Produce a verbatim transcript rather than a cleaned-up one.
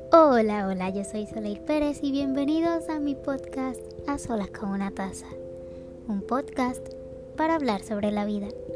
Hola, hola, yo soy Soleil Pérez y bienvenidos a mi podcast A Solas con una Taza, un podcast para hablar sobre la vida.